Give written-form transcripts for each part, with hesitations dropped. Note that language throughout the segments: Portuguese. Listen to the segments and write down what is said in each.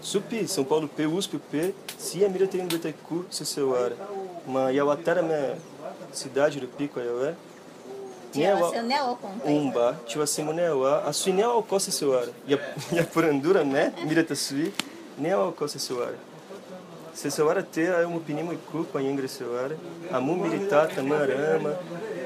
Supi, São Paulo P, USP P, se a mira tem um Betaiku, se seu ara. Mas eu até a minha cidade do Pico, eu é. Tinha você neo com Umba, tinha assim monewa, a sua neo costa seu ara. E a porandura, né? Mira ta sui, neo costa seu ara. Se seu ara te é um pinimo e cu com a ingra seu ara. A mu militata, marama,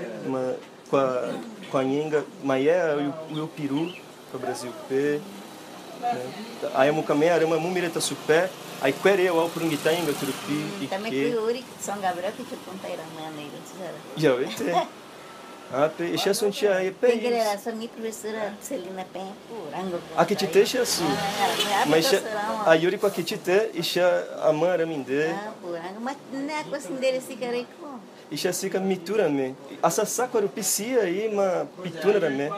com a inga, mas é o peru, para o Brasil P. Aí a mucamé arama mu mireta supé. Aí querer o purungita inga turupi. Também que o Uri São Gabriel que te conta era maneira, já vai ter. Ah, deixa eu sentir aí, tem que era só minha professora Celina Pen, Rango. Aqui te deixa assim. Mas a Yuri com aqui te te, isha a mãe minde. Ah, Rango, mas não é coisa dele se querer com. Isha fica mitura me. Essa saco era piscia aí, uma pitura me.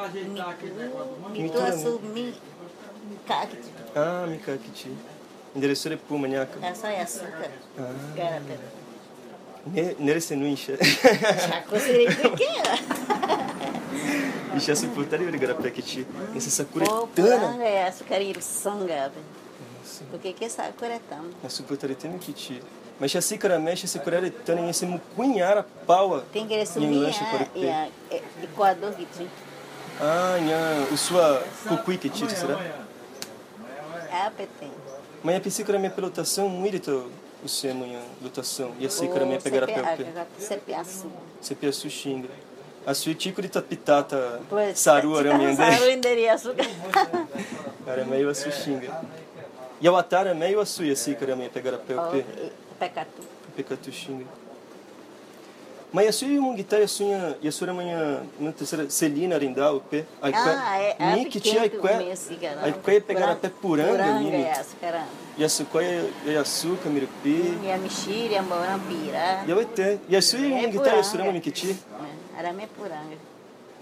Mitura sub kakiti. Ah, mi kakiti. Endereço de puma, nhaca. É só açúcar. Garapé. Nere se não enche. Já consegui pequena. Isha se putaria de garapé que ti. Essa sakura tana. É açúcar e sanga. Porque que sakura é tão? A suputaria tem que ti. Mas se a xícara mexe, se curar de tana e se mucunhar a paua. Tem que resumir Equador que ti. Ah, o sua cucui que ti, será? Ah, petém. Mas a psícara minha pelotação, muito o seu amanhã, lotação. E a xícara minha pegar a pé. Cepiaçu. Cepiaçu xinga. A sua tico de tapitata, saru aramende. Saru inderia açúcar. Cara, meio a sua xinga. E a atara meio a sua xícara minha pegar a pé. Pecatu. Pecatu xinga. Mas a sua munguitai, e a sua amanhã, na terceira, Celina Arindal, o pé. É que tinha aí que pegar a pé puranga, mimi. E a sucoia e açúcar, mirupi. E a mexilha, a morampira. E a sua munguitai, a sua amanhã que tinha. Era minha puranga.